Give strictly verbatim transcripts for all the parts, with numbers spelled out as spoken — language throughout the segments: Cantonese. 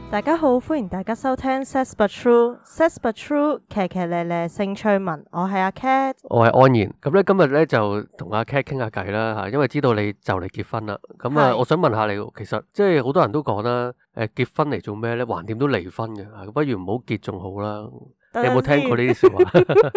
大家好，歡迎大家收聽 Says But True，Says But True，騎騎咧咧性趣聞，我係阿 Cat， 我係安然。咁咧今日咧就同阿 Cat 傾下偈啦吓，因為知道你就嚟結婚啦。咁啊，我想問下你，其實即係好多人都講啦，誒，結婚嚟做咩咧？橫掂都離婚嘅，不如唔好結仲好啦。你有冇聽過呢啲說話？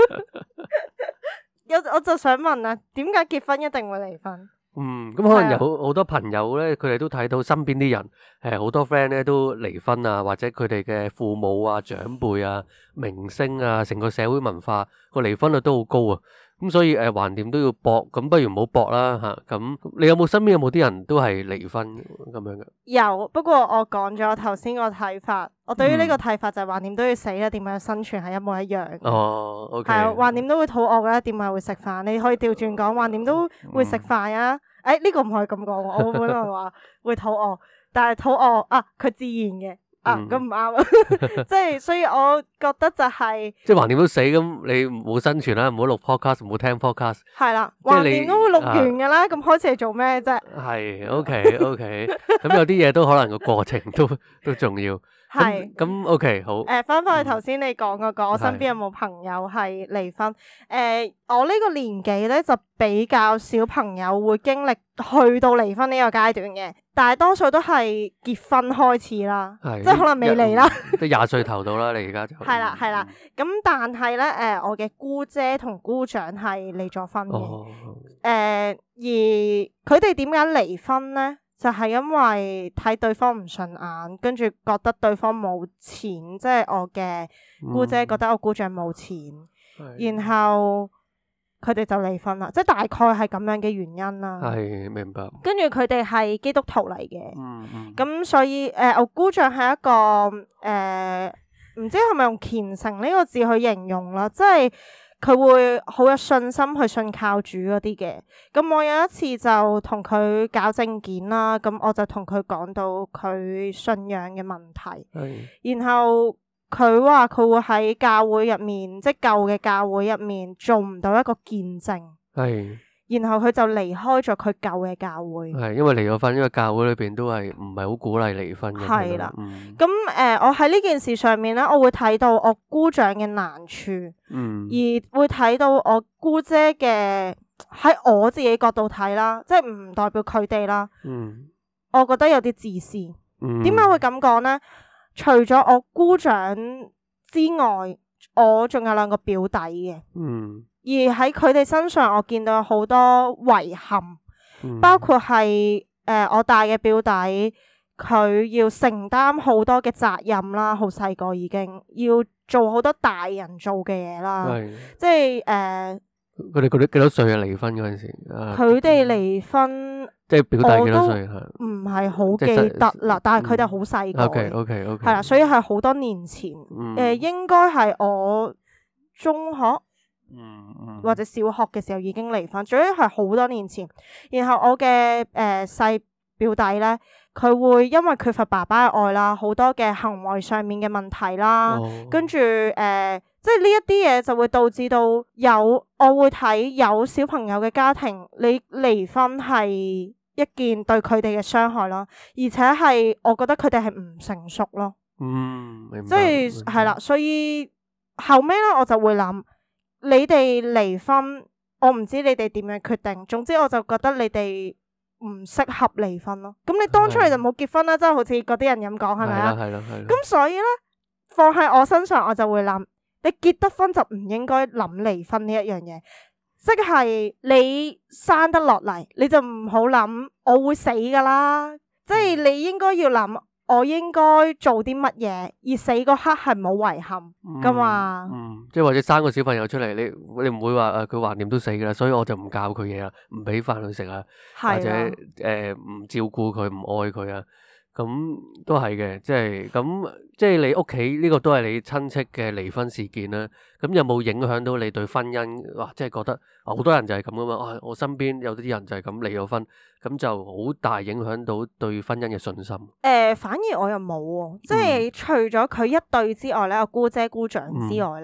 有我就想問啊，點解結婚一定會離婚？ 嗯，咁可能有好多朋友咧，佢哋都睇到身邊啲人，誒，好多 friend 咧都離婚啊，或者佢哋嘅父母啊、長輩啊、明星啊，成個社會文化個離婚率都好高啊。咁所以誒，橫掂都要搏，咁不如唔好搏啦吓。咁你有冇身邊有冇啲人都係離婚咁樣嘅？ 有，不過我講咗頭先個睇法，我對於呢個睇法就係橫掂都要死啦，點樣生存係一模一樣。 哦，OK。 係啊，橫掂都會肚餓噶啦，點解會食飯？你可以調轉講，橫掂都會食飯啊。誒、嗯，呢、欸這個唔可以咁講，我本來話會肚餓，但係肚餓啊，佢自然嘅。啊，咁唔啱，即係所以我覺得就係、是， 即係橫掂都死咁，你冇生存啦，唔好錄 podcast，唔好聽 podcast。 係啦，橫掂都會錄完噶啦，咁、啊、開始係做咩啫？ 係，OK OK，咁有啲嘢都可能個過程都都重要。係，咁 OK 好。 誒，翻返去頭先你講嗰個，我身邊有冇朋友係離婚？誒、呃，我呢個年紀咧就比較少朋友會經歷去到離婚呢個階段嘅，大多數都係結婚開始啦，即係可能未嚟啦， 都廿歲頭到啦，你而家就係啦係啦。咁但係咧，誒，我嘅姑姐同姑丈係離咗婚嘅，誒、 哦呃，而佢哋點解離婚咧？就係因為睇對方唔順眼，跟住覺得對方冇錢，即係我嘅姑姐覺得我姑丈冇錢，嗯、然後佢哋就離婚啦，即係大概係咁樣嘅原因啦。 係，明白。 跟住佢哋係基督徒嚟嘅， 嗯嗯， 咁所以誒、呃，我姑丈係一個誒，唔、呃、知係咪用虔誠呢個字去形容啦，即係。佢會好有信心去信靠主嗰啲嘅，咁我有一次就同佢搞證件啦，咁我就同佢講到佢信仰嘅問題， 係， 然後佢話佢會喺教會入面，即係舊嘅教會入面做唔到一個見證， 係。 然後佢就離開咗佢舊嘅教會。 係，因為離咗婚，因為教會裏邊都係唔係好鼓勵離婚嘅。 係啦， 嗯， 咁誒、呃，我喺呢件事上面咧，我會睇到我姑丈嘅難處， 嗯， 而會睇到我姑姐嘅喺我自己角度睇啦，即係唔代表佢哋啦。 嗯， 我覺得有啲自私。 嗯， 點解會咁講咧？除咗我姑丈之外，我仲有兩個表弟嘅。 嗯。 而喺佢哋身上，我見到好多遺憾， 嗯、 包括係誒、呃、我大嘅表弟，佢要承擔好多嘅責任啦，好細個已經要做好多大人做嘅嘢啦， 係即係誒， 佢哋佢哋幾多歲啊？離婚嗰陣時， 佢哋離婚， 即係表弟幾多歲？係唔係好記得啦，但係佢哋好細個。 OK OK OK， 係啦，所以係好多年前，誒、 嗯呃，應該係我中學。 嗯嗯、 或者小學嘅時候已經離婚，總之係好多年前。然後我嘅誒細表弟咧，佢會因為缺乏爸爸嘅愛啦，好多嘅行為上面嘅問題啦，哦、跟住誒、呃，即係呢一啲嘢就會導致到有我會睇有小朋友嘅家庭，你離婚係一件對佢哋嘅傷害咯，而且係我覺得佢哋係唔成熟咯。 嗯，明白。 即係係啦，所以後尾咧我就會諗。你哋離婚，我唔知你哋點樣決定。總之我就覺得你哋唔適合離婚咯。咁你當初你就冇結婚啦，即係好似嗰啲人咁講，係咪啊？係啦，係啦。咁所以咧，放喺我身上，我就會諗，你結得婚就唔應該諗離婚呢一樣嘢。即係你生得落嚟，你就唔好諗我會死噶啦。即係你應該要諗。我應該做啲乜嘢，而死嗰刻係冇遺憾噶嘛？ 嗯，即係或者生個小朋友出嚟，你你唔會話誒佢橫掂都死噶啦，所以我就唔教佢嘢啦，唔俾飯佢食啊，或者誒唔照顧佢，唔愛佢啊，咁都係嘅，即係咁，即係你屋企呢個都係你親戚嘅離婚事件啦。咁有冇影響到你對婚姻？哇，即係覺得好多人就係咁噶嘛。啊，我身邊有啲人就係咁離咗婚，咁就好大影響到對婚姻嘅信心。誒、 呃，反而我又冇喎，即係除咗佢一對之外咧，我姑姐姑丈之外咧，嗯、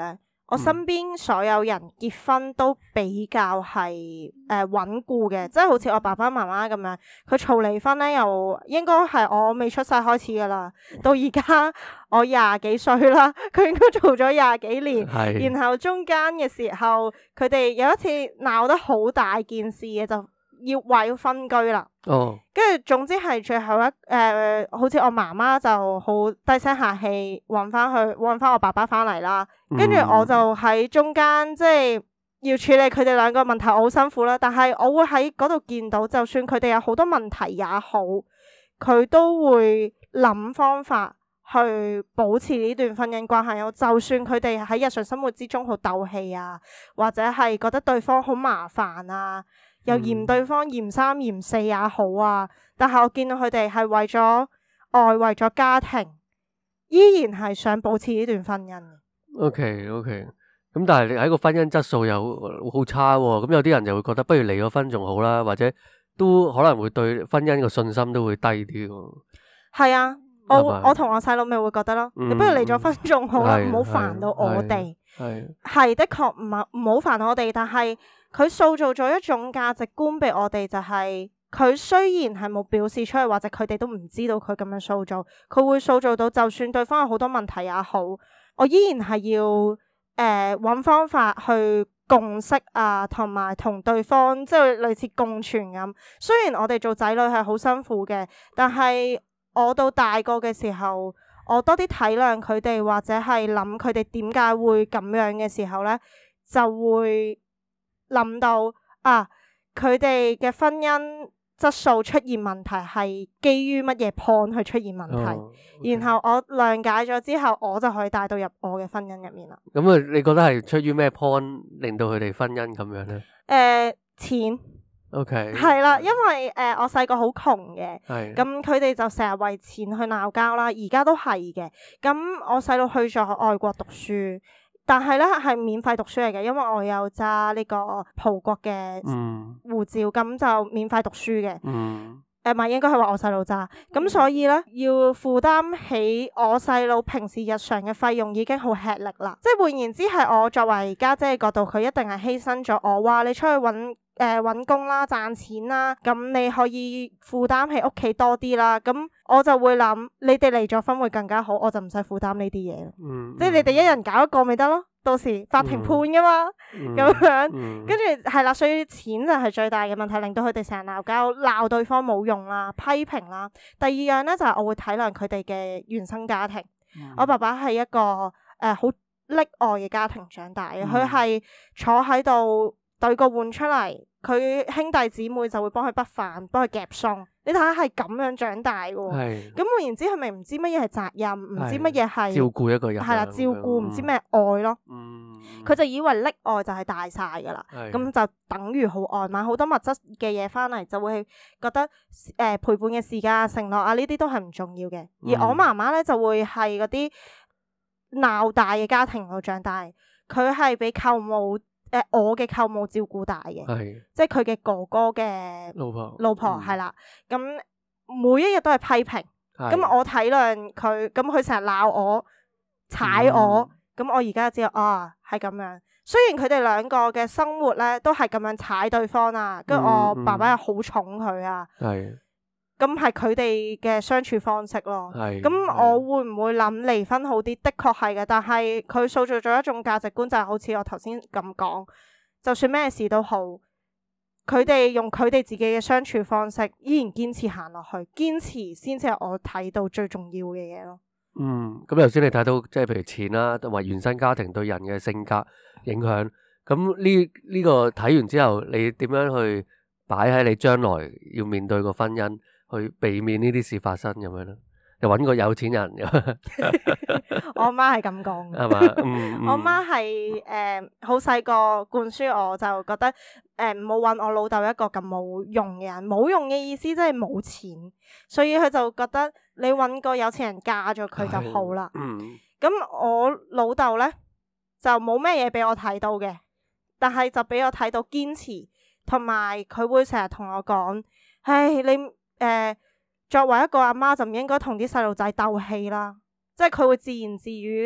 我身邊所有人結婚都比較係誒穩固嘅，即係好似我爸爸媽媽咁樣，佢嘈離婚咧，又應該係我未出世開始噶啦，到而家我廿幾歲啦，佢應該嘈咗廿幾年， 係然後中間嘅時候，佢哋有一次鬧得好大件事嘅，就要話要分居啦。 哦， 跟住總之係最後一誒、呃，好似我媽媽就好低聲下氣揾翻去揾翻我爸爸翻嚟啦。跟住我就喺中間，即係要處理佢哋兩個問題，我好辛苦啦。但係我會喺嗰度見到，就算佢哋有好多問題也好，佢都會諗方法去保持呢段婚姻關係。就算佢哋喺日常生活之中好鬥氣啊，或者係覺得對方好麻煩啊，又嫌對方嫌三嫌四也好啊，但係我見到佢哋係為咗愛，為咗家庭，依然係想保持呢段婚姻。 O K O K，咁但係你喺個婚姻質素又好差喎，咁有啲人就會覺得不如離咗婚仲好啦，或者都可能會對婚姻個信心都會低啲喎。 係啊，我係咪我同我細佬咪會覺得咯， 嗯你不如離咗婚仲好啦， 係唔好煩到我哋。 係係的確唔係唔好煩我哋，但係佢塑造咗一種價值觀俾我哋，就係佢雖然係冇表示出嚟，或者佢哋都唔知道佢咁樣塑造，佢會塑造到就算對方有好多問題也好，我依然係要誒揾、呃、方法去共識啊，同埋同對方即係類似共存咁。雖然我哋做仔女係好辛苦嘅，但係我到大個嘅時候，我多啲體諒佢哋，或者係諗佢哋點解會咁樣嘅時候咧，就會諗到啊，佢哋嘅婚姻質素出現問題係基於乜嘢 point 去出現問題， 哦 okay. 然後我諒解咗之後，我就可以帶到入我嘅婚姻入面啦。 咁啊，你覺得係出於咩 point 令到佢哋婚姻咁樣咧？ 誒、呃，錢 OK， 係啦，因為誒、呃、我細個好窮嘅， 係咁佢哋就成日為錢去鬧交啦，而家都係嘅。咁我細佬去咗外國讀書，但係咧係免費讀書嚟嘅，因為我有揸呢個葡國嘅護照，咁、嗯、就免費讀書嘅。 嗯， 誒唔係，應該係話我細佬揸，咁所以咧要負擔起我細佬平時日常嘅費用已經好吃力啦。即係換言之，係我作為家姐嘅角度，佢一定係犧牲咗我話你出去揾誒揾工啦，賺錢啦，咁你可以負擔起屋企多啲啦。咁我就會諗，你哋離咗婚會更加好，我就唔使負擔呢啲嘢。 嗯， 即係你哋一人搞一個咪得咯，到時法庭判噶嘛，咁、 嗯、 樣， 嗯、 跟住係啦，所以錢就係最大嘅問題，令到佢哋成日鬧交，鬧對方冇用啦，批評啦。第二樣咧就係、是、我會體諒佢哋嘅原生家庭。嗯、我爸爸係一個誒好溺愛嘅家庭長大嘅，佢係、嗯、坐喺度對個碗出嚟，佢兄弟姊妹就會幫佢畢飯，幫佢夾餸。你睇下係咁樣長大嘅，咁換言之，佢咪唔知乜嘢係責任，唔知乜嘢係照顧一個人， 係啦，照顧唔知咩愛咯。佢、嗯、就以為溺愛就係大晒噶啦，咁是就等於好愛，買好多物質嘅嘢翻嚟，就會覺得誒、呃、陪伴嘅時間、承諾啊呢啲都係唔重要嘅。而我媽媽咧就會係嗰啲鬧大嘅家庭度長大，佢係俾舅母。誒、呃，我嘅舅母照顧大嘅， 是即係佢嘅哥哥嘅老婆， 老婆係啦。咁、嗯、每一日都係批評，咁是我體諒佢，咁佢成日鬧我、踩我，咁、嗯、我而家就知道啊，係咁樣。雖然佢哋兩個嘅生活咧都係咁樣踩對方啊，跟住我爸爸又好寵佢啊。 係。 咁係佢哋嘅相處方式咯。 係。 咁我會唔會諗離婚好啲？的確係嘅，但係佢塑造咗一種價值觀，就係好似我頭先咁講，就算咩事都好，佢哋用佢哋自己嘅相處方式，依然堅持行落去，堅持先至係我睇到最重要嘅嘢咯。 嗯，咁頭先你睇到即係譬如錢啦，同埋原生家庭對人嘅性格影響，咁呢呢個睇完之後，你點樣去擺喺你將來要面對個婚姻？去避免呢啲事發生咁樣咯，又揾個有錢人。 我阿媽係咁講嘅， 係嘛？嗯嗯、 我阿媽係誒好細個灌輸我，就覺得誒唔好揾我老豆一個咁冇用嘅人。冇用嘅意思即係冇錢，所以佢就覺得你揾個有錢人嫁咗佢就好啦。咁、嗯、我老豆咧就冇咩嘢俾我睇到嘅，但係就俾我睇到堅持，同埋佢會成日同我講：唉，你。誒、呃，作為一個阿媽就唔應該同啲細路仔鬥氣啦，即係佢會自言自語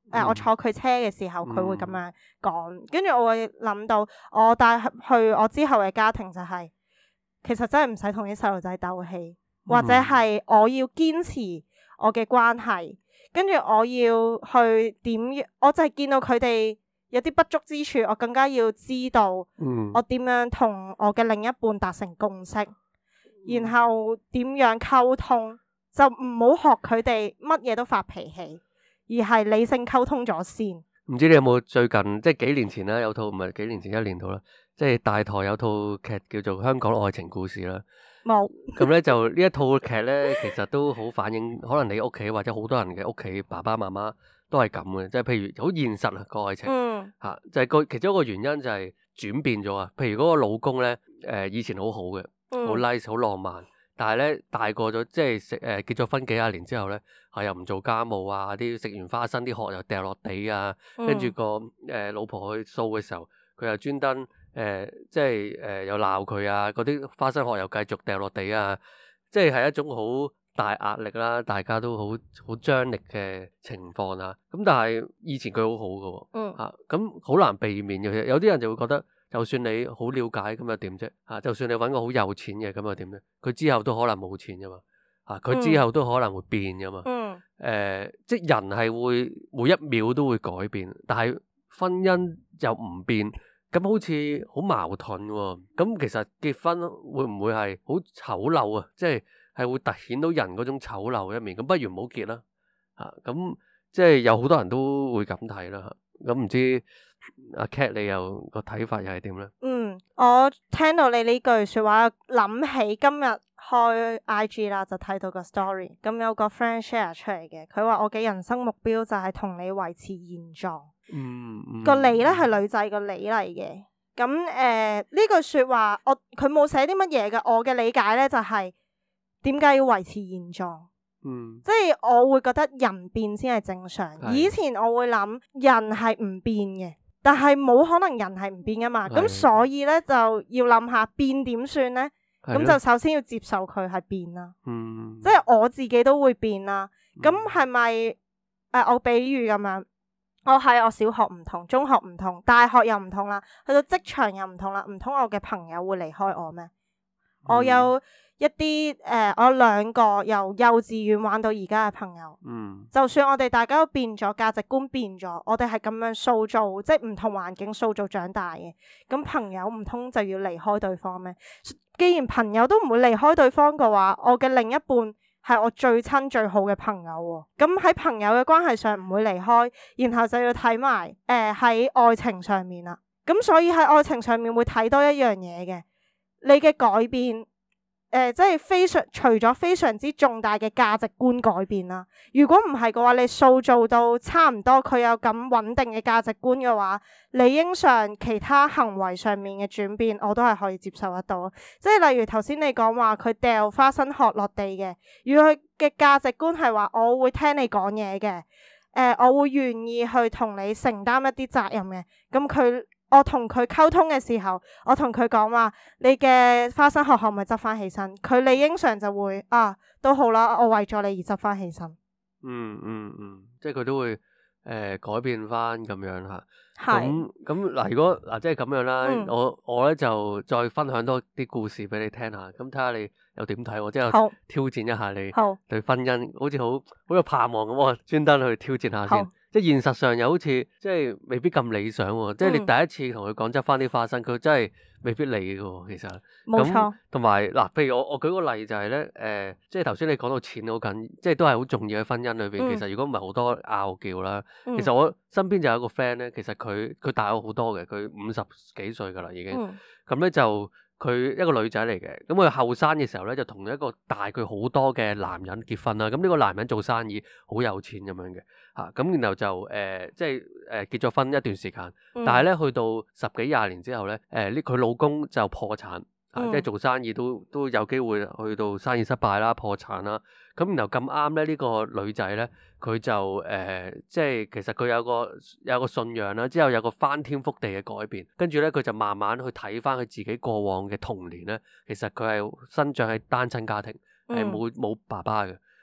呃、我坐佢車嘅時候，佢會咁樣講，跟住我會諗到我帶去我之後嘅家庭就係、是，其實真係唔使同啲細路仔鬥氣，或者係我要堅持我嘅關係，跟住我要去點，我就係見到佢哋有啲不足之處，我更加要知道我點樣同我嘅另一半達成共識，然後點樣溝通。就唔好學佢哋乜嘢都發脾氣，而係理性溝通咗先。 唔知你有冇最近即係幾年前啦，有套唔係幾年前一年度啦，即係大台有套劇叫做《香港愛情故事》啦。 冇。 咁咧就呢一套劇咧，其實都好反映可能你屋企或者好多人嘅屋企爸爸媽媽都係咁嘅，即係譬如好現實啊個愛情，吓、 嗯啊、就係、是、個其中一個原因就係轉變咗啊。譬如嗰個老公咧，誒、呃、以前好好嘅，好 nice 好浪漫。但係咧大個咗，即係食誒結咗婚幾廿年之後咧，係又唔做家務啊，啲食完花生啲殼又掉落地啊，跟住、嗯、個誒、呃、老婆去掃嘅時候，佢又專登誒即係誒、呃、又鬧佢啊，嗰啲花生殼又繼續掉落地啊，即係係一種好大壓力啦，大家都好好張力嘅情況啊。咁但係以前佢好好嘅喎，嚇咁好難避免嘅。有啲人就會覺得。就算你好了解咁又點啫？嚇，就算你揾個好有錢嘅咁又點咧？佢之後都可能冇錢噶嘛，嚇，佢之後都可能會變噶嘛。誒、 嗯呃，即係人係會每一秒都會改變，但係婚姻又唔變，咁好似好矛盾喎。咁其實結婚會唔會係好醜陋啊？即係係會突顯到人嗰種醜陋一面。咁不如唔好結啦。嚇，咁即係有好多人都會咁睇啦。咁唔知阿 Cat 你又個睇法又係點咧？ 嗯，我聽到你呢句説話，諗起今日開 I G 啦，就睇到個 story，咁有個 friend share 出嚟嘅，佢話我嘅人生目標就係同你維持現狀。 嗯，嗯個你咧係女仔個你嚟嘅，咁誒呢句説話，我佢冇寫啲乜嘢嘅，我嘅理解咧就係點解要維持現狀？ 嗯， 即係我會覺得人變先係正常。 係以前我會諗人係唔變嘅，但係冇可能人係唔變噶嘛。咁係所以咧就要諗下變點算咧？咁係咯就首先要接受佢係變啦。 嗯， 即係我自己都會變啦。咁嗯係咪誒？我比喻咁樣，我係我小學唔同，中學唔同，大學又唔同啦，去到職場又唔同啦。唔通我嘅朋友會離開我咩？ 嗯我有一啲誒、呃，我有兩個由幼稚園玩到而家嘅朋友， 嗯， 就算我哋大家都變咗，價值觀變咗，我哋係咁樣塑造，即係唔同環境塑造長大嘅。咁朋友唔通就要離開對方咩？既然朋友都唔會離開對方嘅話，我嘅另一半係我最親最好嘅朋友喎。咁喺朋友嘅關係上唔會離開，然後就要睇埋誒喺愛情上面啦。咁所以喺愛情上面會睇多一樣嘢嘅。你嘅改變，誒、呃，即係非常除咗非常之重大嘅價值觀改變啦。如果唔係嘅話，你塑造到差唔多佢有咁穩定嘅價值觀嘅話，理應上其他行為上面嘅轉變，我都係可以接受得到。即係例如頭先你講話佢掉花生殼落地嘅，如果佢嘅價值觀係話我會聽你講嘢嘅，誒、呃，我會願意去同你承擔一啲責任嘅，咁佢。我同佢溝通嘅時候，我同佢講話，你嘅花生殼可唔可以執翻起身？佢理應上就會啊，都好啦，我為咗你而執翻起身。 嗯嗯嗯，即係佢都會誒、呃、改變翻咁樣吓。 係咁咁嗱，如果嗱即係咁樣啦， 嗯、 我我咧就再分享多啲故事俾你聽下，咁睇下你又點睇喎？即係好挑戰一下你好對婚姻，好似好好有盼望咁，我專登去挑戰下先。 好即係現實上又好似即係未必咁理想喎。即係你第一次同佢講執翻啲花生，佢真係未必理嘅喎。其實冇錯。 同埋嗱，譬如我我舉個例就係咧，誒、呃，即係頭先你講到錢好緊，即係都係好重要喺婚姻裏邊。 嗯、 其實如果唔係好多拗撬啦， 嗯、 其實我身邊就有一個 friend 咧，其實佢佢大我好多嘅，佢五十幾歲噶啦已經。咁咧、嗯、就佢一個女仔嚟嘅，咁佢後生嘅時候咧就同一個大佢好多嘅男人結婚啦。咁呢個男人做生意好有錢咁樣嘅。嚇咁、啊，然後就誒、呃，即係誒、呃、結咗婚一段時間， 嗯、 但係咧去到十幾廿年之後咧，誒呢佢老公就破產，啊嗯、 即係做生意都都有機會去到生意失敗啦、破產啦。咁然後咁啱咧，呢、這個女仔咧，佢就誒、呃，即係其實佢有個有個信仰啦，之後有個翻天覆地嘅改變，跟住咧佢就慢慢去睇翻佢自己過往嘅童年咧，其實佢係生長喺單親家庭，係冇冇爸爸嘅。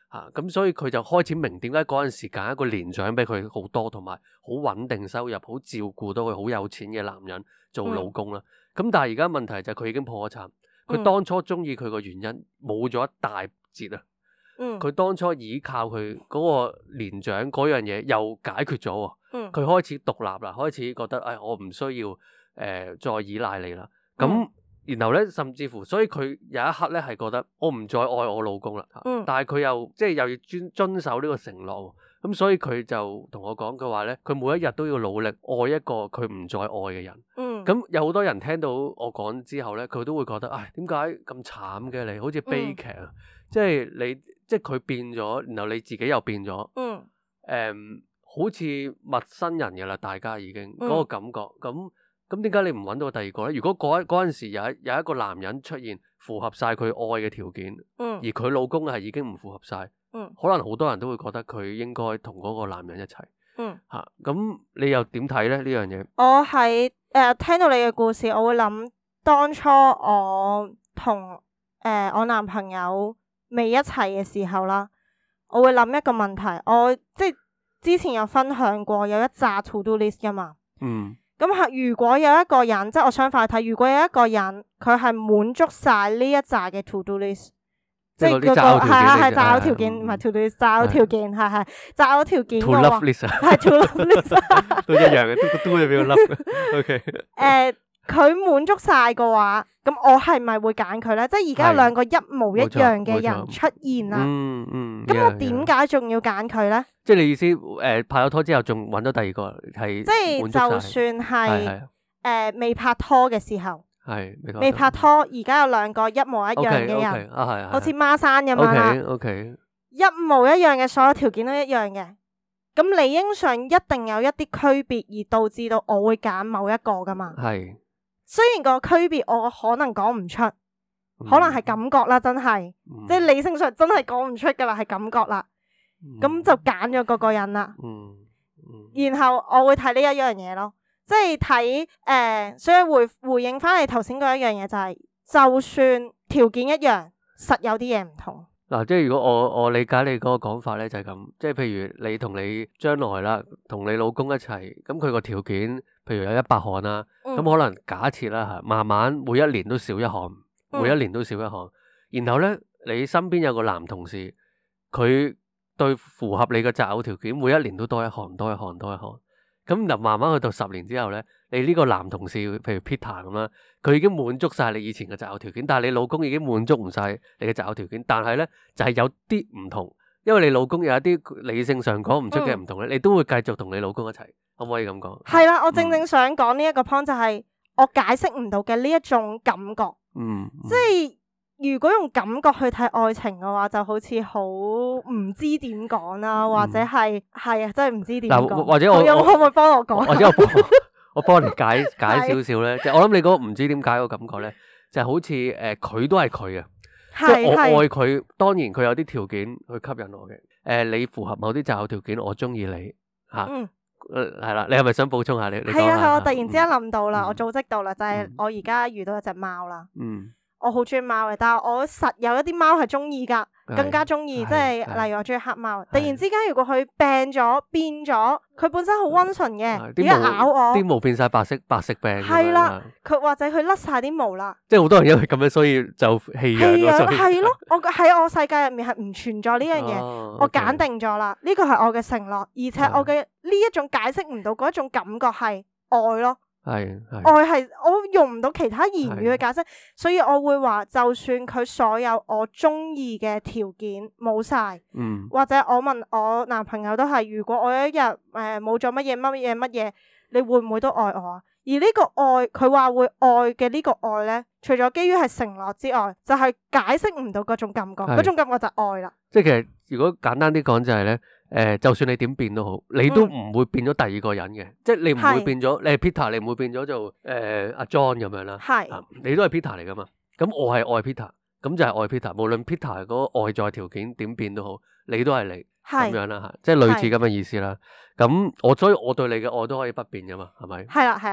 嚇，咁、啊、所以佢就開始明點解嗰陣時揀一個年長比佢好多，同埋好穩定收入、好照顧到佢好有錢嘅男人做老公啦。咁、嗯、但係而家問題就係佢已經破咗產，佢當初中意佢個原因冇咗一大截啊。佢、嗯、當初依靠佢嗰個年長嗰樣嘢又解決咗喎。佢、嗯、開始獨立啦，開始覺得誒、哎、我唔需要誒、呃、再依賴你啦。咁、嗯然後咧，甚至乎，所以佢有一刻咧係覺得我唔再愛我老公啦。嗯、但係佢又即係又要遵遵守呢個承諾，咁所以佢就同我講，佢話咧，佢每一日都要努力愛一個佢唔再愛嘅人。咁、嗯、有好多人聽到我講之後咧，佢都會覺得，唉，點解咁慘嘅你？好似悲劇啊！嗯、即係你，即係佢變咗，然後你自己又變咗。誒、嗯嗯，好似陌生人嘅啦，大家已經嗰、嗯、個感覺咁。咁點解你唔揾到第二個咧？如果嗰嗰陣時有一有一個男人出現符合晒佢愛嘅條件，嗯、而佢老公係已經唔符合晒，嗯、可能好多人都會覺得佢應該同嗰個男人一齊。嗯，吓咁、啊、你又點睇咧呢樣嘢？ 我喺誒、呃、聽到你嘅故事，我會諗當初我同誒、呃、我男朋友未一齊嘅時候啦，我會諗一個問題，我即係之前有分享過有一紮 to do list 噶嘛。嗯。咁係如果有一個人，即係我相反睇，如果有一個人佢係滿足晒呢一紮嘅 to do list，即係嗰個係係係擇偶條件，唔係 to do list，擇偶條件係係擇偶條件嘅話，係 to love list 都一樣嘅，都個都入邊個 love。OK， 誒，佢滿足晒嘅話，咁我係咪會揀佢咧？即係而家有兩個一模一樣嘅人出現啦。嗯嗯。咁我點解仲要揀佢咧？ 即係你意思誒、呃，拍咗拖之後仲揾到第二個係， 即係就算係誒未拍拖嘅時候， 係未拍拖，而家有兩個一模一樣嘅人， okay, okay, 啊係， 好似孖生咁樣啦。 O K， 一模一樣嘅，所有條件都一樣嘅，咁理應上一定有一啲區別，而導致到我會揀某一個噶嘛。係是，雖然個區別我可能講唔出，嗯、可能係感覺啦，真係，嗯、即係理性上真係講唔出噶啦，係感覺啦。咁、嗯、就揀咗嗰個人啦，嗯嗯、然後我會睇呢一樣嘢咯，即係睇誒，所以回回應翻你頭先嗰一樣嘢就係、是，就算條件一樣，實有啲嘢唔同。 嗱、啊，即係如果我我理解你嗰個講法咧，就係咁，即係譬如你同你將來啦，同你老公一齊，咁佢個條件，譬如有一百項啦，咁、嗯、可能假設啦吓，慢慢每一年都少一項，每一年都少一項，嗯、然後咧你身邊有個男同事，佢。對符合你嘅擇偶條件，每一年都多一項，多一項，多一項。咁就慢慢去到十年之後咧，你呢個男同事，譬如 Peter 咁啦，佢已經滿足晒你以前嘅擇偶條件，但係你老公已經滿足唔晒你嘅擇偶條件。但係咧就係、是、有啲唔同，因為你老公有一啲理性上講唔出嘅唔同咧，嗯、你都會繼續同你老公一齊，可唔可以咁講？係啦， 我正正想講呢一個 point 就係我解釋唔到嘅呢一種感覺，嗯，嗯即係。如果用感覺去睇愛情嘅話，就好似好唔知點講啦，或者係係啊，真係唔知點講。 或者我有可唔可以幫我講？ 或者我幫我幫你解解少少咧，即係我諗你嗰個唔知點解個感覺咧，就係好似誒佢都係佢啊，即係我愛佢，當然佢有啲條件去吸引我嘅。誒，你符合某啲擇偶條件，我中意你吓，係啦。你係咪想補充下？你係啊係，我突然之間諗到啦，我組織到啦，就係我而家遇到一隻貓啦。嗯。我好中意貓嘅，但係我實有一啲貓係中意噶，是更加中意，即係例如我中意黑貓。是突然之間，如果佢病咗變咗，佢本身好溫順嘅，而家咬我， 啲毛變晒白色，白色病。 係啦，佢或者佢甩晒啲毛啦。 即係好多人因為咁樣，所以就棄養。棄養係咯，我喺我世界入面係唔存在呢樣嘢，哦、我揀定咗啦。呢個係我嘅承諾，而且我嘅呢一種解釋唔到嗰一種感覺係愛咯。係愛係我用唔到其他言語去解釋，所以我會話，就算佢所有我中意嘅條件冇晒，嗯、或者我問我男朋友都係，如果我有一日誒冇咗乜嘢乜嘢乜嘢，你會唔會都愛我啊？而呢個愛，佢話會愛嘅呢個愛咧，除咗基於係承諾之外，就係、是、解釋唔到嗰種感覺，嗰是種感覺就係愛啦。 即係其實如果簡單啲講就係、是、咧。誒、呃，就算你點變都好，你都唔會變咗第二個人嘅，嗯、即係你唔會變咗，是你係 Peter，你唔會變咗做誒阿 John 咁樣啦。係是、啊，你都係 Peter 嚟噶嘛？咁我係愛 Peter，咁就係愛 Peter。無論 Peter 嗰個外在條件點變都好，你都係你咁是樣啦吓，即係類似咁嘅意思啦。咁是我所以我對你嘅愛都可以不變噶嘛，係咪？ 係啦係啦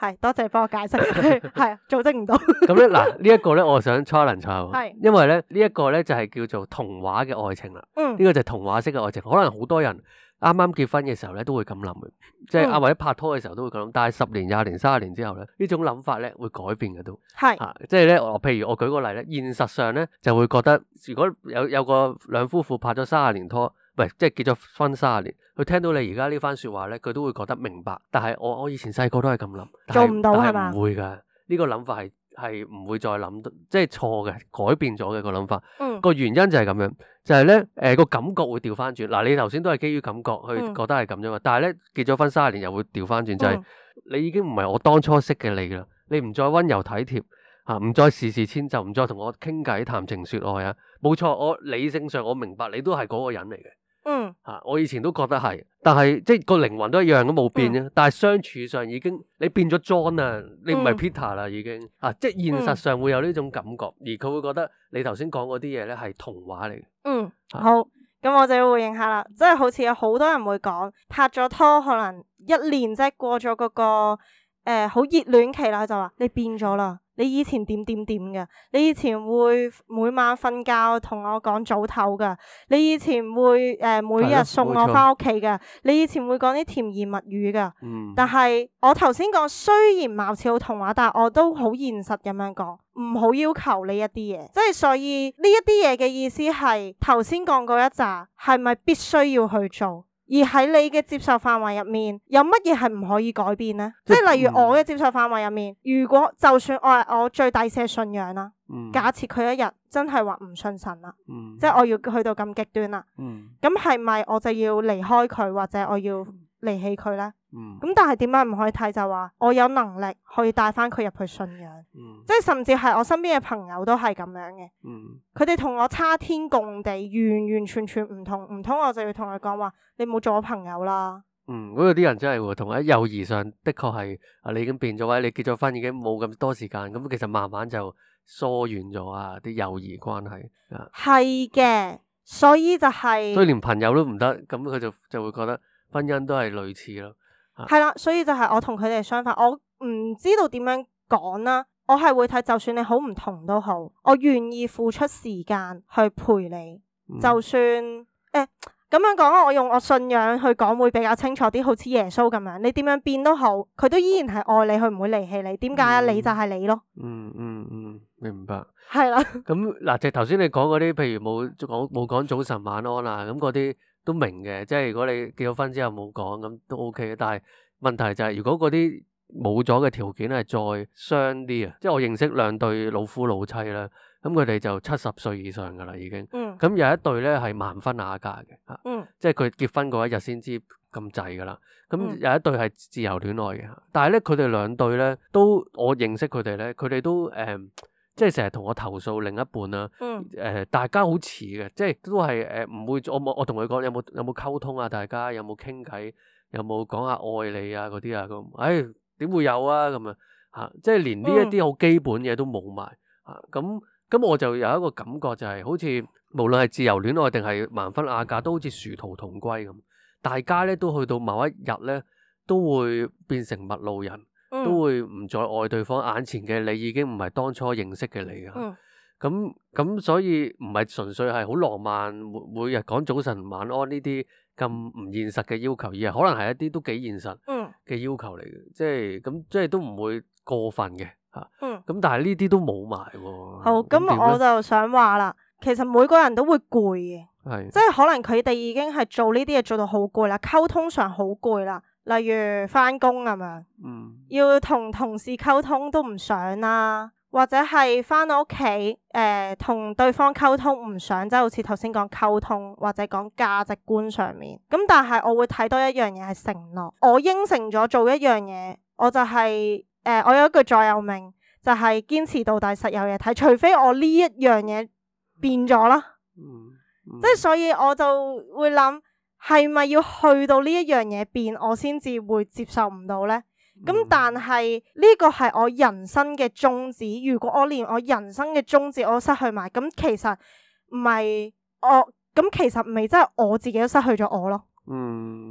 係多謝你幫我解釋，係組織唔到。 咁咧嗱，呢一個咧，我想 challenge 下喎， 係因為咧呢一個咧就係叫做童話嘅愛情啦。 嗯呢個就係童話式嘅愛情，可能好多人啱啱結婚嘅時候咧都會咁諗嘅，即係啊嗯或者拍拖嘅時候都會咁諗，但係十年、廿年、三十年之後咧，呢種諗法咧會改變嘅都係嚇，即係咧我譬如我舉個例咧，現實上咧就會覺得，如果有有個兩夫婦拍咗三十年拖，喂，即係結咗婚三十年，佢聽到你而家呢番説話咧，佢都會覺得明白。但係我我以前細個都係咁諗，但係做唔到但係嘛唔會㗎，呢個諗法係係唔會再諗到，即係錯嘅，改變咗嘅個諗法。 嗯個原因就係咁樣，就係咧誒個感覺會調翻轉。嗱，你頭先都係基於感覺去嗯覺得係咁啫嘛，但係咧結咗婚三十年又會調翻轉，就係、 嗯你已經唔係我當初識嘅你啦，你唔再温柔體貼嚇，唔、再事事遷就，唔再同我傾偈談情説愛啊。冇錯，我理性上我明白你都係嗰個人嚟嘅。 嗯吓、啊，我以前都覺得係，但係即係個靈魂都一樣都冇變啫。但係相處上已經你變咗 John 啊，你唔係 Peter 啦，已經啊，即係現實上會有呢種感覺，而佢會覺得你頭先講嗰啲嘢咧係童話嚟嘅。 嗯，好，咁我就要回應下啦，即係好似有好多人會講拍咗拖可能一年即係過咗嗰個誒好熱戀期啦，就話你變咗啦。你以前點點點嘅，你以前會每晚瞓覺同我講早唞噶，你以前會誒、呃、每日送我翻屋企噶，你以前會講啲甜言蜜語噶。 嗯， 但係我頭先講雖然貌似好童話，但係我都好現實咁樣講，唔好要求呢一啲嘢。即係所以呢一啲嘢嘅意思係頭先講嗰一紮係咪必須要去做？而喺你嘅接受範圍入面，有乜嘢係唔可以改變呢？即係例如我嘅接受範圍入面，如果就算我係我最底線信仰啦， 嗯假設佢一日真係話唔信神啦， 嗯即係我要去到咁極端啦， 嗯咁係咪我就要離開佢，或者我要離棄佢呢？ 嗯咁但係點解唔可以睇就話我有能力可以帶翻佢入去信仰， 嗯即係甚至係我身邊嘅朋友都係咁樣嘅， 嗯佢哋同我差天共地，完完全全唔同，唔通我就要同佢講話你冇做我朋友啦？ 嗯，嗰度啲人真係喎，同喺友誼上的確係啊，你已經變咗，或者你結咗婚已經冇咁多時間，咁其實慢慢就疏遠咗啊，啲友誼關係啊， 係嘅，所以就係所以連朋友都唔得，咁佢就就會覺得婚姻都係類似咯。 係啦，所以就係我同佢哋相反，我唔知道點樣講啦。我係會睇，就算你好唔同都好，我願意付出時間去陪你。 嗯、 就算誒咁樣講，我用我信仰去講會比較清楚啲，好似耶穌咁樣，你點樣變都好，佢都依然係愛你，佢唔會離棄你。點解啊？你就係你咯。 嗯嗯嗯，明白。 係啦。 咁嗱，就頭先你講嗰啲，譬如冇講冇講早晨晚安啊，咁嗰啲都明嘅。即係如果你結咗婚之後冇講，咁都 OK 嘅。但係問題就係，如果嗰啲冇咗嘅條件係再傷啲啊，即係我認識兩對老夫老妻啦，咁佢哋就七十歲以上噶啦已經。 嗯。 咁有一對咧係盲婚啞嫁嘅，吓、 嗯， 即係佢結婚嗰一日先知咁滯噶啦。咁嗯有一對係自由戀愛嘅，但係咧佢哋兩對咧都我認識佢哋咧，佢哋都誒、呃，即係成日同我投訴另一半啦。 嗯。 誒、呃，大家好似嘅，即係都係誒唔會，我冇我同佢講有冇有冇溝通啊？大家有冇傾偈？有冇講下愛你啊嗰啲啊咁？唉，點會有啊咁啊嚇！即係連呢一啲好基本嘢都冇埋嚇，咁咁我就有一個感覺就係好似無論係自由戀愛定係盲婚啞嫁，都好似殊途同歸咁。大家咧都去到某一日咧，都會變成陌路人， 嗯、 都會唔再愛對方。眼前嘅你已經唔係當初認識嘅你啊！ 嗯咁咁所以唔係純粹係好浪漫，每每日講早晨晚安呢啲咁唔現實嘅要求，而係可能係一啲都幾現實嘅要求嚟嘅，即係咁即係都唔會過分嘅嚇。 嗯， 咁但係呢啲都冇埋喎。 好，咁我就想話啦，其實每個人都會攰嘅， 係即係可能佢哋已經係做呢啲嘢做到好攰啦，溝通上好攰啦，例如返工咁樣， 嗯， 要同同事溝通都唔想啦。或者係翻到屋企，誒、呃、同對方溝通唔想，即係好似頭先講溝通或者講價值觀上面。咁但係我會睇多一樣嘢係承諾，我應承咗做一樣嘢，我就係、是、誒、呃、我有一句座右銘，就係、是、堅持到底，實有嘢睇。除非我呢一樣嘢變咗啦， 嗯嗯、 即係所以我就會諗，係咪要去到呢一樣嘢變，我先至會接受唔到呢？咁、嗯、但係呢個係我人生嘅宗旨，如果我連我人生嘅宗旨我都失去埋，咁其實唔係我，咁其實唔係真係我自己都失去咗我咯。 嗯，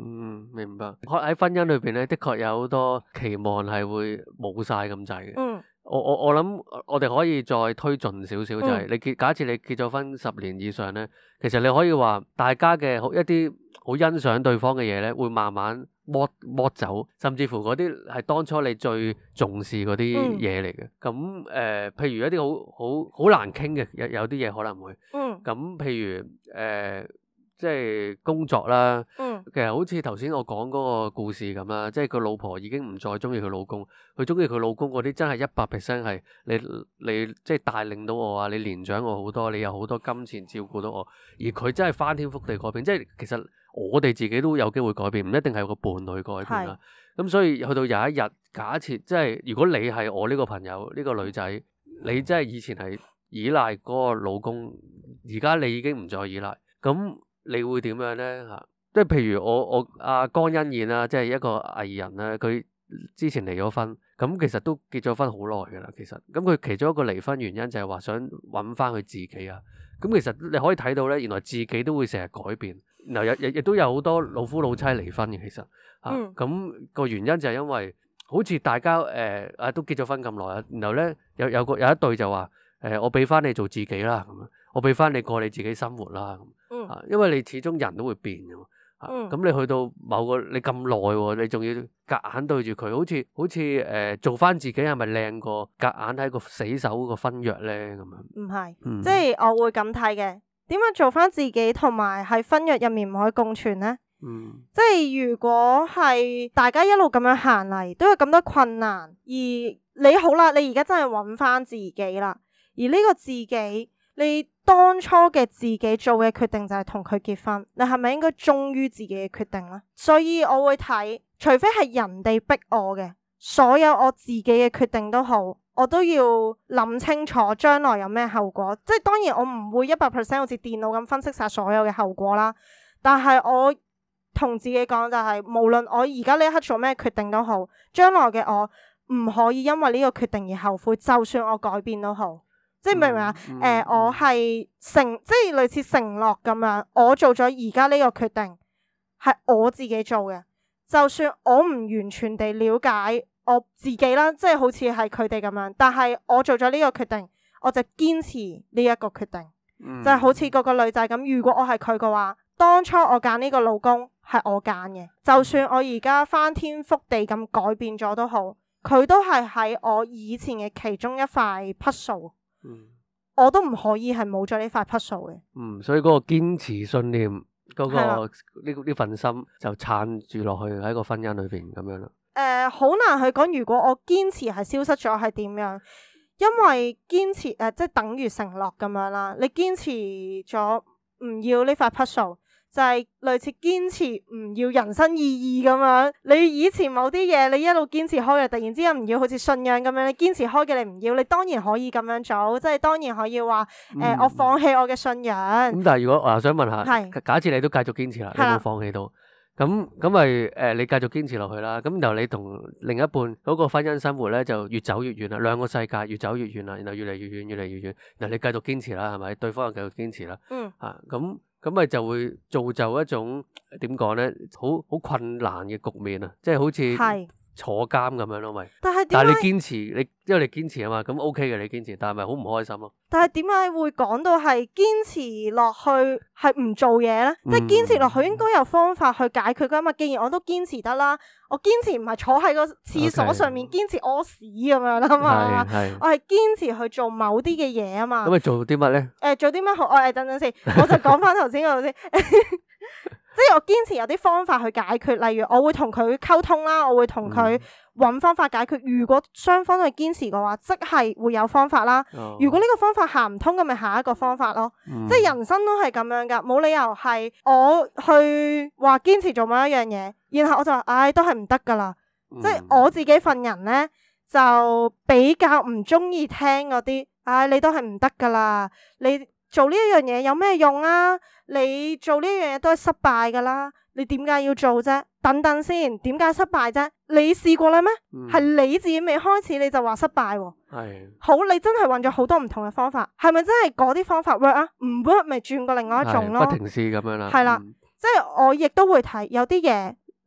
明白。喺婚姻裏邊咧，的確有好多期望係會冇晒咁滯嘅。 嗯。 我我我諗我哋可以再推進少少，就係、是、你結假設你結咗婚十年以上咧，其實你可以話大家嘅好一啲好欣賞對方嘅嘢咧，會慢慢剝剝走，甚至乎嗰啲係當初你最重視嗰啲嘢嚟嘅。咁誒、嗯呃，譬如一啲好好好難傾嘅，有有啲嘢可能會。嗯。咁譬如誒。呃即係工作啦，嗯、其實好似頭先我講嗰個故事咁啦，即係個老婆已經唔再中意佢老公，佢中意佢老公嗰啲真係一百 percent 係你你即係帶領到我啊，你年長我好多，你有好多金錢照顧到我，而佢真係翻天覆地改變，即係其實我哋自己都有機會改變，唔一定係個伴侶改變啦。咁是所以去到有一日，假設即係如果你係我呢個朋友呢、呢個女仔，你真係以前係依賴嗰個老公，而家你已經唔再依賴，咁。你會點樣咧嚇？即係譬如我我阿江欣燕啦，即係一個藝人啦，佢之前離咗婚，咁其實都結咗婚好耐㗎啦。其實咁佢其中一個離婚原因就係話想揾翻佢自己啊。咁其實你可以睇到咧，原來自己都會成日改變。然後亦亦都有好多老夫老妻離婚嘅，其實嚇。咁、嗯、個原因就係因為好似大家誒啊、呃、都結咗婚咁耐啊，然後咧有有個有一對就話誒、呃、我俾翻你做自己啦，咁樣我俾翻你過你自己生活啦。嗯，因為你始終人都會變嘅嘛，嗯，咁你去到某個你咁耐，你仲要夾硬對住佢，好似好似誒、呃、做翻自己係咪靚過夾硬喺個死守個婚約咧咁樣？唔係是，嗯、即係我會咁睇嘅。點樣做翻自己同埋喺婚約入面唔可以共存咧？嗯，即係如果係大家一路咁樣行嚟，都有咁多困難，而你好啦，你而家真係揾翻自己啦，而呢個自己。你當初嘅自己做嘅決定就係同佢結婚，你係咪應該忠於自己嘅決定呢？所以我會睇，除非係人哋逼我嘅，所有我自己嘅決定都好，我都要諗清楚將來有咩後果。即係當然我唔會一百 percent 好似電腦咁分析晒所有嘅後果啦，但係我同自己講就係，無論我而家呢一刻做咩決定都好，將來嘅我唔可以因為呢個決定而後悔，就算我改變都好。即係明唔明啊？誒、嗯嗯呃，我係承，即係類似承諾咁樣，我做咗而家呢個決定係我自己做嘅，就算我唔完全地了解我自己啦，即係好似係佢哋咁樣，但係我做咗呢個決定，我就堅持呢一個決定，嗯、就係好似嗰個女仔咁。如果我係佢嘅話，當初我揀呢個老公係我揀嘅，就算我而家翻天覆地咁改變咗都好，佢都係喺我以前嘅其中一塊 puzzle。嗯，我都唔可以係冇咗呢塊 puzzle 嘅。嗯，所以嗰個堅持信念，嗰、嗰個呢呢份心就撐住落去喺個婚姻裏邊咁樣咯。誒、呃，好難去講，如果我堅持係消失咗係點樣？因為堅持誒、呃，即係等於承諾咁樣啦。你堅持咗唔要呢塊 puzzle。就係類似堅持唔要人生意義咁樣，你以前某啲嘢你一路堅持開嘅，突然之間唔要，好似信仰咁樣，你堅持開嘅你唔要，你當然可以咁樣做，即係當然可以話誒、嗯呃，我放棄我嘅信仰。咁、嗯、但係如果我想問下，係是假設你都繼續堅持啦，你冇放棄到，咁咁咪誒，你繼續堅持落去啦。咁然後你同另一半嗰個婚姻生活咧就越走越遠啦，兩個世界越走越遠啦，然後越嚟越遠，越嚟越遠。然後你繼續堅持啦，係咪？對方又繼續堅持啦。嗯。啊，咁。咁咪就會造就一種點講咧，好好困難嘅局面啊！即係好似坐監咁樣咯，咪。但係但係你堅持，你因為你堅持啊嘛，咁 OK 嘅你堅持，但係咪好唔開心咯？但係點解會講到係堅持落去係唔做嘢咧？嗯、即係堅持落去應該有方法去解決噶嘛？既然我都堅持得啦，我堅持唔係坐喺個廁所上面堅持屙屎咁樣啦嘛，我係堅持去做某啲嘅嘢啊嘛。咁你做啲乜咧？誒、呃，做啲乜好？我、哎、誒，等等先，我就講翻頭先嗰度先。即係我堅持有啲方法去解決，例如我會同佢溝通啦，我會同佢揾方法解決。如果雙方都係堅持嘅話，即係會有方法啦。哦、如果呢個方法行唔通，咁咪下一個方法咯。嗯、即係人生都係咁樣噶，冇理由係我去話堅持做某一樣嘢，然後我就話唉、哎，都係唔得噶啦。嗯、即係我自己份人咧，就比較唔中意聽嗰啲唉，你都係唔得噶啦，你。做呢一樣嘢有咩用啊？你做呢樣嘢都係失敗噶啦，你點解要做啫？等等先，點解失敗啫？你試過啦咩？係、嗯、你自己未開始你就話失敗喎、啊。係的好，你真係揾咗好多唔同嘅方法，係咪真係嗰啲方法 work 啊？唔 work 咪轉過另外一種咯。不停試咁樣啦。係啦的，嗯、即係我亦都會睇有啲嘢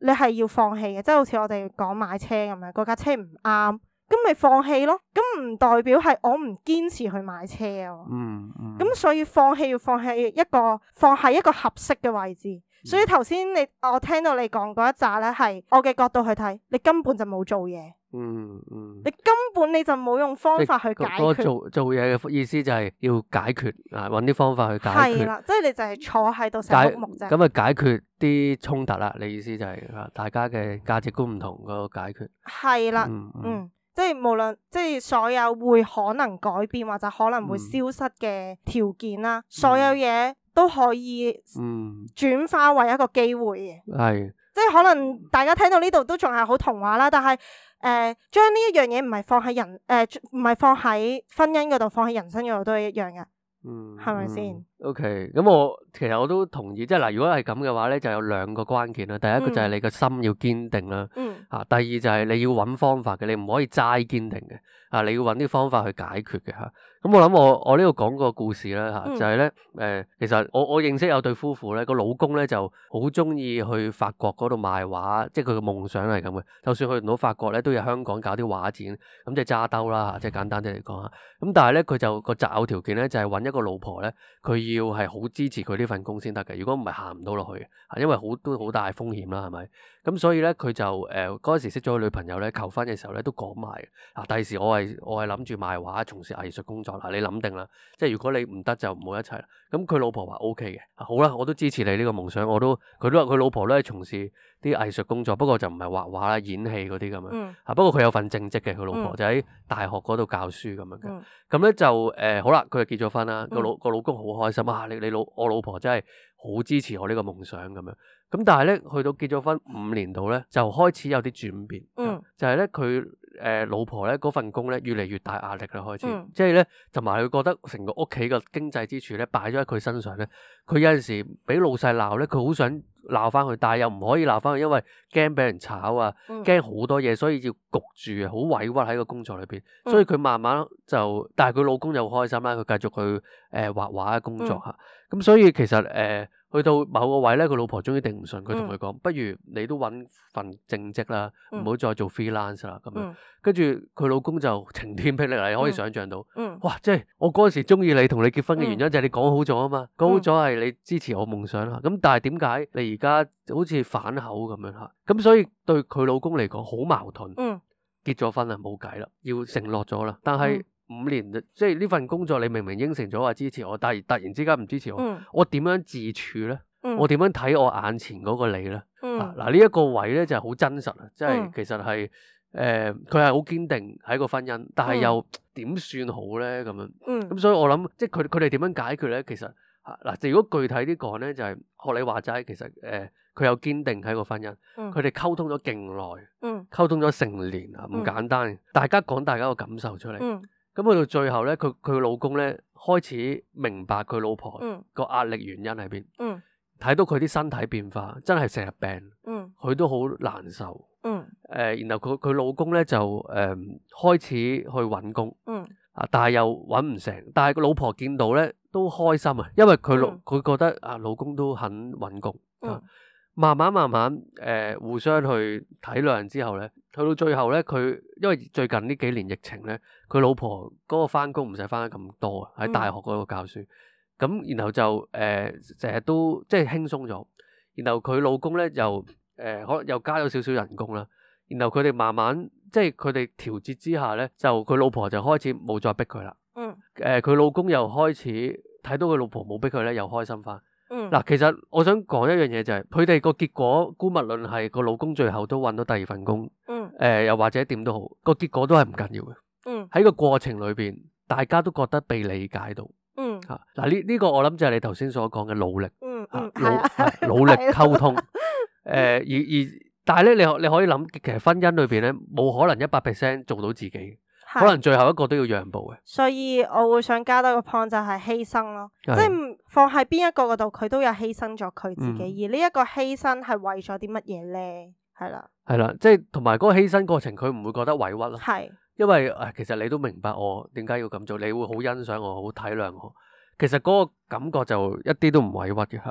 你係要放棄嘅，即係好似我哋講買車咁樣，嗰架車唔啱，咁咪放棄咯。咁唔代表係我唔堅持去買車啊。 嗯嗯。 咁所以放棄要放棄一個放喺一個合適嘅位置。所以頭先你我聽到你講嗰一紮咧，係我嘅角度去睇，你根本就冇做嘢。 嗯嗯。 你根本你就冇用方法去解決。 嗰個做做嘢嘅意思就係要解決啊，揾啲方法去解決。 係啦，即係你就係坐喺度成碌木啫。 咁啊，解決啲衝突啦。你意思就係啊，大家嘅價值觀唔同嗰個解決。 係啦， 嗯嗯。 嗯，即係無論即係所有會可能改變或者可能會消失嘅條件啦， 嗯、 所有嘢都可以嗯轉化為一個機會嘅。 係、嗯， 即係可能大家聽到呢度都仲係好童話啦，但係誒將呢一樣嘢唔係放喺人誒唔係放喺婚姻嗰度，放喺人生嗰度都係一樣嘅。 嗯， 係咪先 ？OK，咁我其實我都同意，即係嗱，如果係咁嘅話咧，就有兩個關鍵啦。第一個就係你個心要堅定啦， 嗯， 啊，第二就係你要揾方法嘅，你唔可以齋堅定嘅，啊，你要揾啲方法去解決嘅嚇。咁我諗我我呢度講個故事啦嚇， 嗯、 就係咧誒，其實我我認識有對夫婦咧，個老公咧就好中意去法國嗰度賣畫，即係佢嘅夢想係咁嘅。就算去唔到法國咧，都有香港搞啲畫展，咁即係揸兜啦嚇，即係簡單啲嚟講嚇。咁但係咧，佢就個擇偶條件咧就係揾一個老婆咧，佢要係好支持佢呢份工先得嘅。如果唔係行唔到落去嘅，因為好都好大風險啦，係咪？咁所以咧，佢就誒嗰陣時識咗個女朋友咧，求婚嘅時候咧都講埋嗱，第時我係我係諗住賣畫，從事藝術工作嗱，你諗定啦，即係如果你唔得就唔好一齊啦。咁佢老婆話 O K 嘅，好啦，我都支持你呢個夢想，我都佢都話佢老婆都係從事啲藝術工作，不過就唔係畫畫啦、演戲嗰啲咁樣。嗯、啊，不過佢有份正職嘅，佢老婆、嗯、就喺大學嗰度教書咁樣嘅。咁咧、嗯、就誒、呃、好啦，佢就結咗婚啦，個老個老公好開心啊！你你老我老婆真係好支持我呢個夢想咁樣。咁但係咧，去到結咗婚五年度咧，就開始有啲轉變。嗯，就係咧佢誒老婆咧嗰份工咧越嚟越大壓力啦，開始，嗯、即係咧同埋佢覺得成個屋企嘅經濟支柱咧擺咗喺佢身上咧，佢有陣時俾老細鬧咧，佢好想鬧翻佢，但係又唔可以鬧翻佢，因為驚俾人炒啊，驚好多嘢，所以要焗住啊，好委屈喺個工作裏邊。所以佢慢慢就，但係佢老公又好開心啦，佢繼續去誒、呃、畫畫嘅工作嚇。咁、嗯、所以其實誒。呃去到某個位咧，佢老婆終於頂唔順，佢同佢講：嗯、不如你都揾份正職啦，唔好、嗯、再做 freelance 啦。咁樣，跟住佢老公就晴天霹靂，你可以想象到，嗯、哇！即係我嗰陣時中意你，同你結婚嘅原因就係你講好咗啊嘛，講好咗係你支持我夢想啦。咁但係點解你而家好似反口咁樣嚇？咁所以對佢老公嚟講好矛盾。嗯、結咗婚啦，冇計啦，要承諾咗啦，但係。嗯五年即係呢份工作，你明明應承咗話支持我，但係突然之間唔支持我，嗯、我點樣自處咧？嗯、我點樣睇我眼前嗰個你咧？嗱嗱呢一個位咧就係好真實啊！即係、嗯、其實係誒，佢係好堅定喺個婚姻，但係又點算好咧？咁樣咁，嗯、所以我諗即係佢佢哋點樣解決咧？其實嗱，如果具體啲講咧，就係、是、學你話齋，其實誒，佢、呃、有堅定喺個婚姻，佢哋溝通咗勁耐，溝、嗯、通咗成年啊，唔簡單，嗯、大家講大家個感受出嚟。嗯咁去到最後咧，佢佢老公咧開始明白佢老婆個壓力原因喺邊，睇、嗯、到佢啲身體變化，真係成日病，佢、嗯、都好難受。誒、嗯呃，然後佢佢老公咧就誒、呃、開始去揾工，啊、嗯，但係又揾唔成。但係個老婆見到咧都開心啊，因為佢老佢覺得啊老公都肯揾工。嗯嗯慢慢慢慢，誒、呃、互相去體諒之後咧，去到最後咧，佢因為最近呢幾年疫情咧，佢老婆嗰個返工唔使返得咁多啊，喺大學嗰度教書，咁、嗯、然後就誒成日都即係輕鬆咗，然後佢老公咧又誒可能又加咗少少人工啦，然後佢哋慢慢即係佢哋調節之下咧，就佢老婆就開始冇再逼佢啦，嗯，誒佢、呃、老公又開始睇到佢老婆冇逼佢咧，又開心返。嗱，其實我想講一樣嘢就係，佢哋個結果，姑勿論係個老公最後都揾到第二份工，嗯，誒、呃，又或者點都好，個結果都係唔緊要嘅，嗯，喺個過程裏邊，大家都覺得被理解到，嗯，吓、啊，嗱呢呢個我諗就係你頭先所講嘅努力，嗯嗯，努努力溝通，誒、呃，而而但係咧，你你可以諗，其實婚姻裏邊咧，冇可能一百 percent 做到自己。可能最後一個都要讓步嘅， 所以我會想加多個 point 就係犧牲咯，是即係放喺邊一個嗰度，佢都有犧牲咗佢自己，嗯、而呢一個犧牲係為咗啲乜嘢咧？係啦，係啦，即係同埋嗰個犧牲過程，佢唔會覺得委屈咯， 係是， 因為誒，其實你都明白我點解要咁做，你會好欣賞我，好體諒我，其實嗰個感覺就一啲都唔委屈嘅吓，嗯，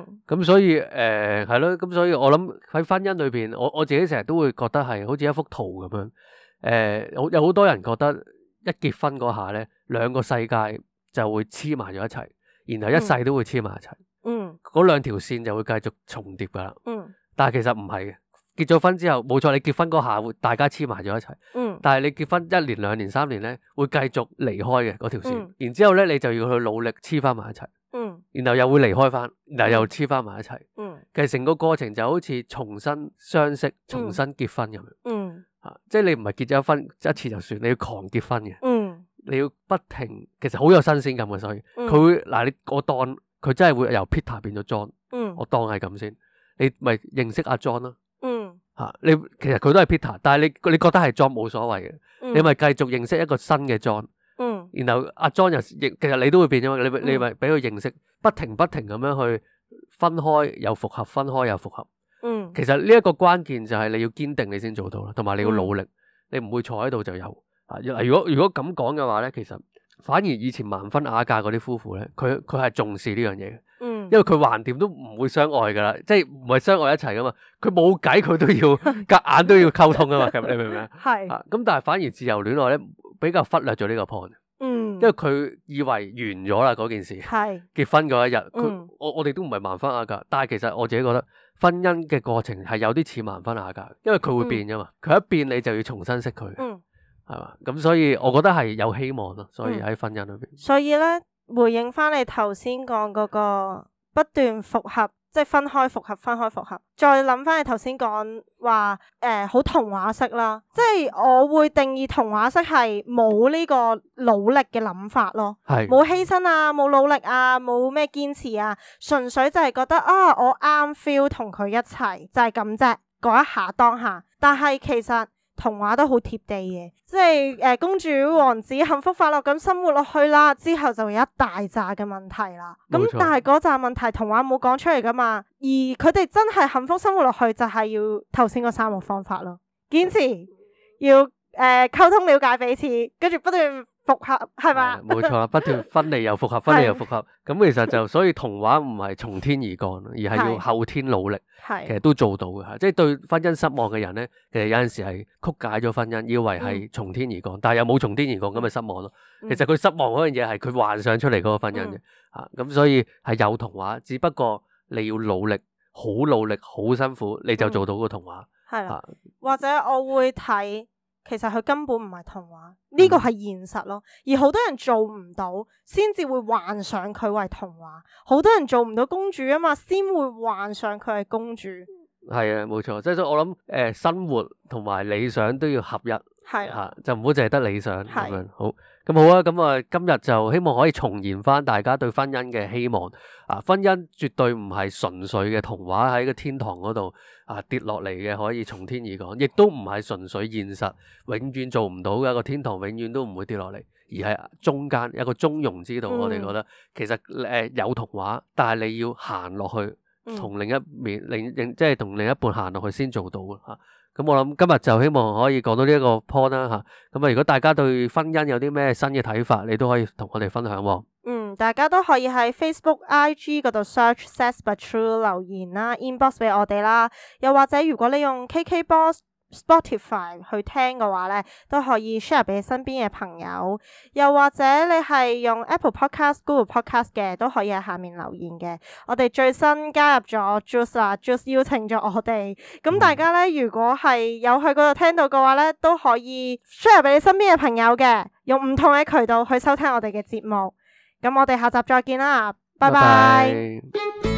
嗯， 咁所以誒係咯，咁、呃、所以我諗喺婚姻裏邊，我我自己成日都會覺得係好似一幅圖咁樣。誒、呃，有有好多人覺得一結婚嗰下咧，兩個世界就會黐埋咗一齊，然後一世都會黐埋一齊。 嗯， 嗰兩條線就會繼續重疊噶啦。 嗯， 但係其實唔係嘅。結咗婚之後，冇錯，你結婚嗰下會大家黐埋咗一齊。 嗯， 但係你結婚一年、兩年、三年咧，會繼續離開嘅嗰條線。 嗯， 然之後咧，你就要去努力黐翻埋一齊。 嗯， 然後又會離開翻，然後又黐翻埋一齊。 嗯， 其實成個過程就好似重新相識、重新結婚咁樣。 嗯， 啊，即係你唔係結咗婚一次就算，你要狂結婚嘅。 嗯， 你要不停，其實好有新鮮感嘅，所以佢、 嗯、 會嗱，你我當佢真係會由 Peter 變咗 John。 嗯， 我當係咁先，你咪認識阿 John 咯。 嗯， 吓、啊、你其實佢都係 Peter，但係你你覺得係 John 冇所謂嘅， 嗯、 你咪繼續認識一個新嘅 John。 嗯， 然後阿 John 又認，其實你都會變咗嘛，你咪你咪俾佢認識，不停不停咁樣去分開又復合，分開又復合。 嗯， 其實呢一個關鍵就係你要堅定，你先做到啦，同埋你要努力，嗯、你唔會坐喺度就有。啊，如果如果咁講嘅話咧，其實反而以前盲婚啞嫁嗰啲夫婦咧，佢佢係重視呢樣嘢嘅。 嗯， 因為佢橫掂都唔會相愛噶啦，即係唔係相愛一齊噶嘛，佢冇計佢都要夾硬都要溝通噶嘛，你明唔明啊？ 係啊，咁但係反而自由戀愛咧比較忽略咗呢個 point， 嗯， 因為佢以為完咗啦嗰件事， 係結婚嗰一日，佢、 嗯、我我哋都唔係盲婚啞嫁，但係其實我自己覺得婚姻嘅過程係有啲似盲婚啞嫁，因為佢會變噶嘛，佢、嗯、一變你就要重新識佢， 嗯，係嘛，咁所以我覺得係有希望咯，所以喺婚姻裏邊、嗯， 所以咧回應翻你頭先講嗰個。不斷復合，即係分開復合，分開復合。再諗翻你頭先講話，誒、呃，好童話式啦，即係我會定義童話式係冇呢個努力嘅諗法咯，係冇犧牲啊，冇努力啊，冇咩堅持啊，純粹就係覺得啊，我啱 feel 同佢一齊就係咁啫，嗰一下當下。但係其實童話都好貼地嘅，即係誒、呃、公主王子幸福快樂咁生活落去啦，之後就有一大紮嘅問題啦。咁冇錯， 但係嗰紮問題童話冇講出嚟噶嘛，而佢哋真係幸福生活落去就係要頭先嗰三個方法咯，堅持要誒呃、溝通了解彼此，跟住不斷復合係嘛？ 冇錯啦，不斷分離又復合，分離又復合。咁其實就所以童話唔係從天而降，而係要後天努力。係，其實都做到嘅吓。即係對婚姻失望嘅人咧，其實有陣時係曲解咗婚姻，以為係從天而降，嗯、但係又冇從天而降，咁咪失望咯。嗯、其實佢失望嗰樣嘢係佢幻想出嚟嗰個婚姻嘅吓。咁、嗯啊、所以係有童話，只不過你要努力，好努力，好辛苦，你就做到個童話。係啦、嗯，啊、或者我會睇。其實佢根本唔係童話，呢個係現實咯。而好多人做唔到，先至會幻想佢為童話。好多人做唔到公主啊嘛，先會幻想佢係公主。係啊，冇錯。即係我諗，誒、呃，生活同埋理想都要合一。係啊，啊，就唔好淨係得理想咁樣。好，咁好啊。咁啊，今日就希望可以重燃翻大家對婚姻嘅希望。啊，婚姻絕對唔係純粹嘅童話喺個天堂嗰度啊跌落嚟嘅，可以從天而降，亦都唔係純粹現實，永遠做唔到嘅一個天堂，永遠都唔會跌落嚟，而係中間有一個中庸之道。嗯、我哋覺得其實誒、呃、有童話，但係你要行落去，同另一面另另即係同另一半行落去先做到嘅吓。咁、啊、我諗今日就希望可以講到呢一個 point 啦吓。咁啊，如果大家對婚姻有啲咩新嘅睇法，你都可以同我哋分享。嗯，大家都可以喺 Facebook、I G 嗰度 search Says But True 留言啦 ，inbox 俾我哋啦。又或者如果你用 K K Box、Spotify 去聽嘅話咧，都可以 share 俾身邊嘅朋友。又或者你係用 Apple Podcast、Google Podcast 嘅，都可以喺下面留言嘅。我哋最新加入咗 Juice 啦 ，Juice 邀請咗我哋。咁大家咧，如果係有去嗰度聽到嘅話咧，都可以 share 俾你身邊嘅朋友嘅，用唔同嘅渠道去收聽我哋嘅節目。咁我哋下集再見啦，拜拜。拜拜。